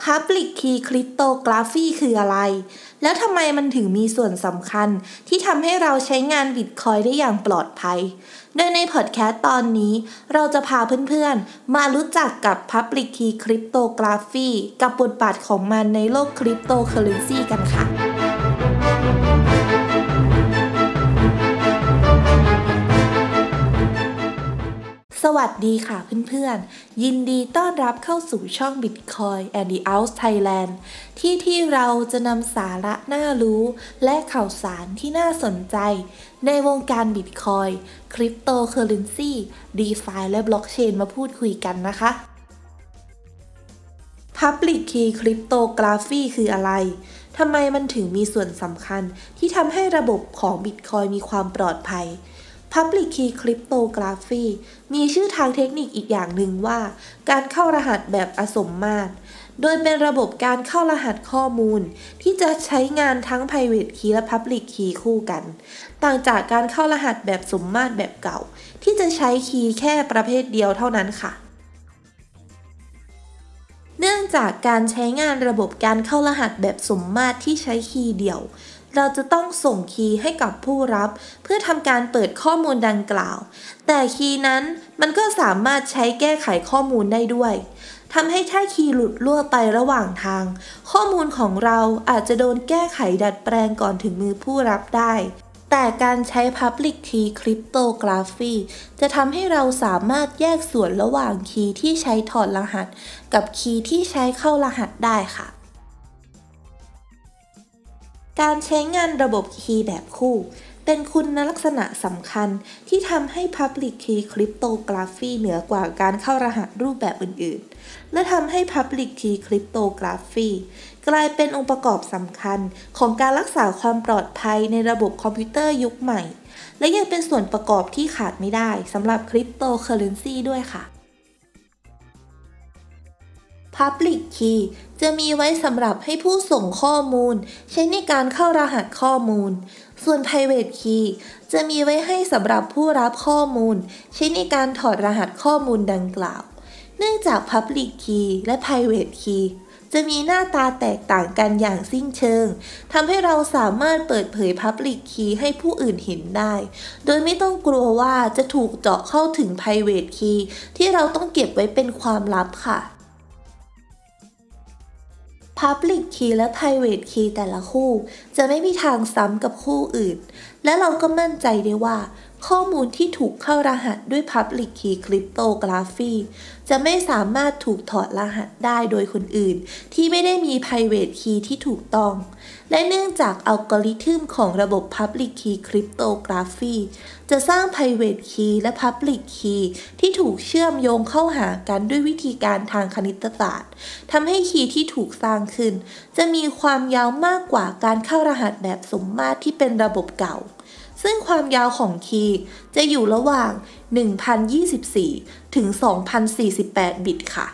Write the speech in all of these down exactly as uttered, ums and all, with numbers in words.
Public Key Cryptography คืออะไรแล้วทำไมมันถึงมีส่วนสำคัญที่ทำให้เราใช้งาน Bitcoin ได้อย่างปลอดภัยโดยในพอดแคสต์ตอนนี้เราจะพาเพื่อนๆมารู้จักกับ Public Key Cryptography กับบทบาทของมันในโลก Cryptocurrency กันค่ะสวัสดีค่ะเพื่อนๆยินดีต้อนรับเข้าสู่ช่อง Bitcoin and the Out Thailand ที่ที่เราจะนำสาระน่ารู้และข่าวสารที่น่าสนใจในวงการ Bitcoin Cryptocurrency DeFi และ Blockchain มาพูดคุยกันนะคะ Public Key Cryptography คืออะไรทำไมมันถึงมีส่วนสำคัญที่ทำให้ระบบของ Bitcoin มีความปลอดภัยPublic Key Cryptography มีชื่อทางเทคนิคอีกอย่างหนึ่งว่าการเข้ารหัสแบบอสมมาตรโดยเป็นระบบการเข้ารหัสข้อมูลที่จะใช้งานทั้ง Private Key และ Public Key คู่กันต่างจากการเข้ารหัสแบบสมมาตรแบบเก่าที่จะใช้คีย์แค่ประเภทเดียวเท่านั้นค่ะเนื่องจากการใช้งานระบบการเข้ารหัสแบบสมมาตรที่ใช้คีย์เดียวเราจะต้องส่งคีย์ให้กับผู้รับเพื่อทำการเปิดข้อมูลดังกล่าวแต่คีย์นั้นมันก็สามารถใช้แก้ไขข้อมูลได้ด้วยทำให้ถ้าคีย์หลุดรั่วไประหว่างทางข้อมูลของเราอาจจะโดนแก้ไขดัดแปลงก่อนถึงมือผู้รับได้แต่การใช้ Public Key Cryptography จะทำให้เราสามารถแยกส่วนระหว่างคีย์ที่ใช้ถอดรหัสกับคีย์ที่ใช้เข้ารหัสได้ค่ะการใช้งานระบบคีย์แบบคู่เป็นคุณลักษณะสำคัญที่ทำให้ Public Key Cryptography เหนือกว่าการเข้ารหัสรูปแบบอื่นๆและทำให้ Public Key Cryptography กลายเป็นองค์ประกอบสำคัญของการรักษาความปลอดภัยในระบบคอมพิวเตอร์ยุคใหม่และยังเป็นส่วนประกอบที่ขาดไม่ได้สำหรับ Cryptocurrency ด้วยค่ะPublic Key จะมีไว้สำหรับให้ผู้ส่งข้อมูลใช้ในการเข้ารหัสข้อมูลส่วน Private Key จะมีไว้ให้สำหรับผู้รับข้อมูลใช้ในการถอดรหัสข้อมูลดังกล่าวเนื่องจาก Public Key และ Private Key จะมีหน้าตาแตกต่างกันอย่างสิ้นเชิงทำให้เราสามารถเปิดเผย Public Key ให้ผู้อื่นเห็นได้โดยไม่ต้องกลัวว่าจะถูกเจาะเข้าถึง Private Key ที่เราต้องเก็บไว้เป็นความลับค่ะPublic Key และ Private Key แต่ละคู่จะไม่มีทางซ้ำกับคู่อื่นและเราก็มั่นใจได้ว่าข้อมูลที่ถูกเข้ารหัสด้วย Public Key Cryptography จะไม่สามารถถูกถอดรหัสได้โดยคนอื่นที่ไม่ได้มี Private Key ที่ถูกต้องและเนื่องจากอัลกอริทึมของระบบ Public Key Cryptography จะสร้าง Private Key และ Public Key ที่ถูกเชื่อมโยงเข้าหากันด้วยวิธีการทางคณิตศาสตร์ทำให้คีย์ที่ถูกสร้างขึ้นจะมีความยาวมากกว่าการเข้ารหัสแบบสมมาตรที่เป็นระบบเก่าซึ่งความยาวของคีย์จะอยู่ระหว่าง หนึ่งพันยี่สิบสี่ ถึง สองพันสี่สิบแปด บิตค่ะ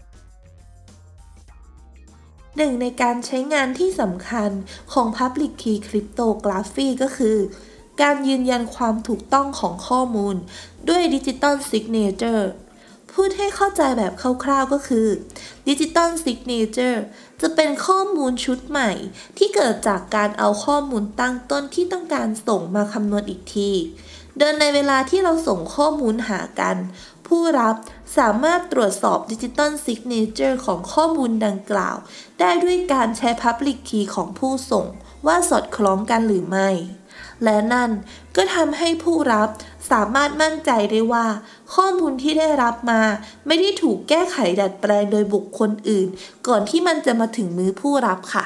หนึ่งในการใช้งานที่สำคัญของ Public Key Cryptography ก็คือการยืนยันความถูกต้องของข้อมูลด้วย Digital Signature พูดให้เข้าใจแบบคร่าวๆก็คือ Digital Signature จะเป็นข้อมูลชุดใหม่ที่เกิดจากการเอาข้อมูลตั้งต้นที่ต้องการส่งมาคำนวณอีกทีโดยในเวลาที่เราส่งข้อมูลหากันผู้รับสามารถตรวจสอบ Digital Signature ของข้อมูลดังกล่าวได้ด้วยการใช้ Public Key ของผู้ส่งว่าสอดคล้องกันหรือไม่และนั่นก็ทำให้ผู้รับสามารถมั่นใจได้ว่าข้อมูลที่ได้รับมาไม่ได้ถูกแก้ไขดัดแปลงโดยบุคคลอื่นก่อนที่มันจะมาถึงมือผู้รับค่ะ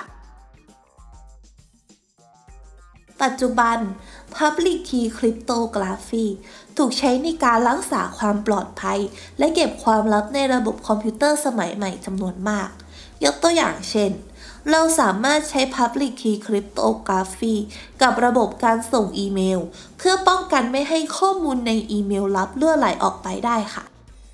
ปัจจุบัน Public Key Cryptography ถูกใช้ในการรักษาความปลอดภัยและเก็บความลับในระบบคอมพิวเตอร์สมัยใหม่จำนวนมากยกตัวอย่างเช่นเราสามารถใช้ Public Key Cryptography กับระบบการส่งอีเมลเพื่อป้องกันไม่ให้ข้อมูลในอีเมลลับรั่วไหลออกไปได้ค่ะ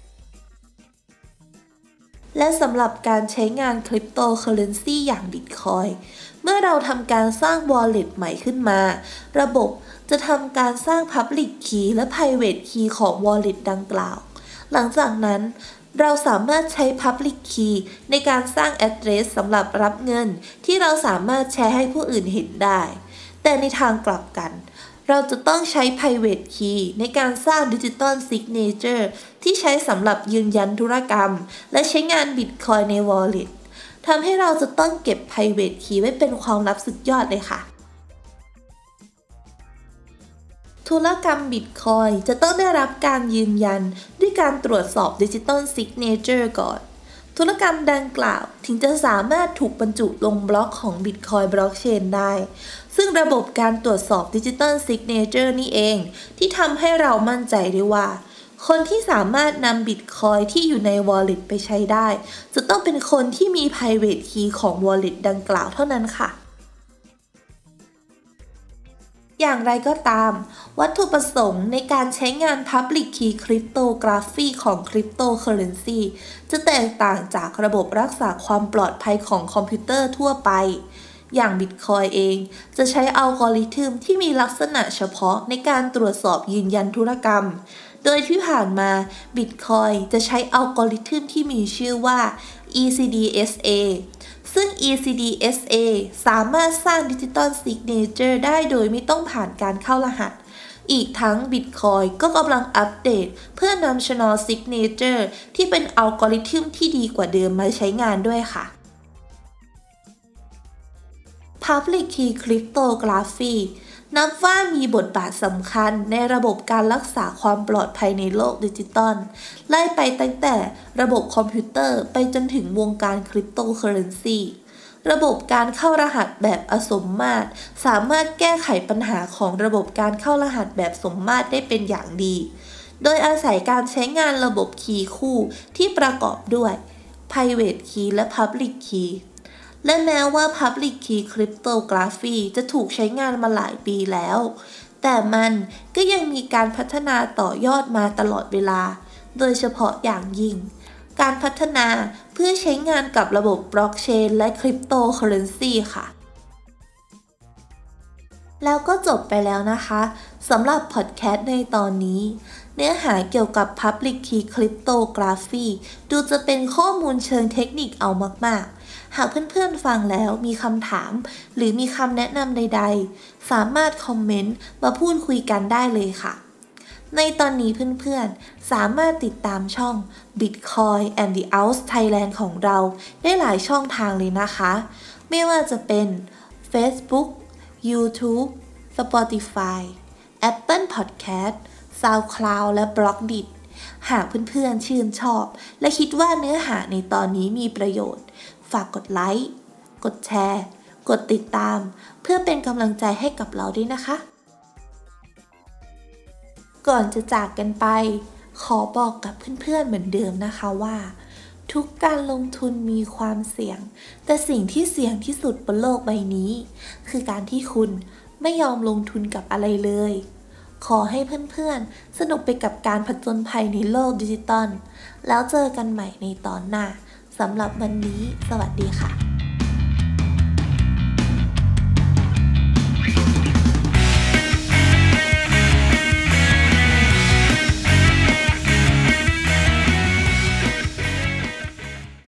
และสำหรับการใช้งาน Cryptocurrency อย่าง Bitcoin เมื่อเราทำการสร้าง Wallet ใหม่ขึ้นมาระบบจะทำการสร้าง Public Key และ Private Key ของ Wallet ดังกล่าวหลังจากนั้นเราสามารถใช้ Public Key ในการสร้าง address สำหรับรับเงินที่เราสามารถแชร์ให้ผู้อื่นเห็นได้แต่ในทางกลับกันเราจะต้องใช้ Private Key ในการสร้าง Digital Signature ที่ใช้สำหรับยืนยันธุรกรรมและใช้งาน Bitcoin ใน Wallet ทำให้เราจะต้องเก็บ Private Key ไว้เป็นความลับสุดยอดเลยค่ะธุรกรรม Bitcoin จะต้องได้รับการยืนยันด้วยการตรวจสอบ Digital Signature ก่อนธุรกรรมดังกล่าวถึงจะสามารถถูกบรรจุลงบล็อกของ Bitcoin Blockchain ได้ซึ่งระบบการตรวจสอบ Digital Signature นี่เองที่ทำให้เรามั่นใจได้ว่าคนที่สามารถนำ Bitcoin ที่อยู่ใน Wallet ไปใช้ได้จะต้องเป็นคนที่มี Private Key ของ Wallet ดังกล่าวเท่านั้นค่ะอย่างไรก็ตามวัตถุประสงค์ในการใช้งาน Public Key Cryptography ของ Cryptocurrency จะแตกต่างจากระบบรักษาความปลอดภัยของคอมพิวเตอร์ทั่วไปอย่าง Bitcoin เองจะใช้อัลกอริทึมที่มีลักษณะเฉพาะในการตรวจสอบยืนยันธุรกรรมโดยที่ผ่านมา Bitcoin จะใช้อัลกอริทึมที่มีชื่อว่า อี ซี ดี เอส เอ ซึ่ง อี ซี ดี เอส เอ สามารถสร้าง Digital Signature ได้โดยไม่ต้องผ่านการเข้ารหัสอีกทั้ง Bitcoin ก็กำลังอัปเดตเพื่อนำ Channel Signature ที่เป็นอัลกอริทึมที่ดีกว่าเดิมมาใช้งานด้วยค่ะ Public Key Cryptography นับว่ามีบทบาทสำคัญในระบบการรักษาความปลอดภัยในโลกดิจิตอลไล่ไปตั้งแต่ระบบคอมพิวเตอร์ไปจนถึงวงการคริปโตเคอเรนซีระบบการเข้ารหัสแบบอสมมาตรสามารถแก้ไขปัญหาของระบบการเข้ารหัสแบบสมมาตรได้เป็นอย่างดีโดยอาศัยการใช้งานระบบคีย์คู่ที่ประกอบด้วย Private Key และ Public Keyและแม้ว่า Public Key Cryptography จะถูกใช้งานมาหลายปีแล้วแต่มันก็ยังมีการพัฒนาต่อยอดมาตลอดเวลาโดยเฉพาะอย่างยิ่งการพัฒนาเพื่อใช้งานกับระบบบล็อกเชนและคริปโตเคอเรนซีค่ะแล้วก็จบไปแล้วนะคะสำหรับพอดแคสต์ในตอนนี้เนื้อหาเกี่ยวกับ Public Key Cryptography ดูจะเป็นข้อมูลเชิงเทคนิคเอามากๆหากเพื่อนๆฟังแล้วมีคำถามหรือมีคำแนะนำใดๆสามารถคอมเมนต์มาพูดคุยกันได้เลยค่ะในตอนนี้เพื่อนๆสามารถติดตามช่อง Bitcoin and the Ounce Thailand ของเราได้หลายช่องทางเลยนะคะไม่ว่าจะเป็น Facebook YouTube Spotify Apple Podcast SoundCloud และ Blockdit หากเพื่อนๆชื่นชอบและคิดว่าเนื้อหาในตอนนี้มีประโยชน์ฝากกดไลค์กดแชร์กดติดตามเพื่อเป็นกำลังใจให้กับเราด้วยนะคะก่อนจะจากกันไปขอบอกกับเพื่อนๆเหมือนเดิมนะคะว่าทุกการลงทุนมีความเสี่ยงแต่สิ่งที่เสี่ยงที่สุดบนโลกใบนี้คือการที่คุณไม่ยอมลงทุนกับอะไรเลยขอให้เพื่อนๆสนุกไปกับการผจญภัยในโลกดิจิตอลแล้วเจอกันใหม่ในตอนหน้าสำหรับวันนี้สวัสดีค่ะ